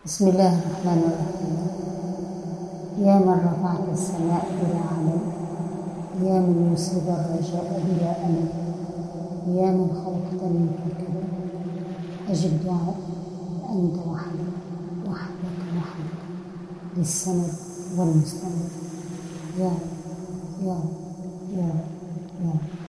بسم الله الرحمن الرحيم. يا من رفعت السماء بلا علم، يا من يصيب الرجاء بلا أمل، يا من خلقتني في كبر، أجب دعائي فأنت وحدك للسند والمستند. يا رب يا رب يا رب يا رب.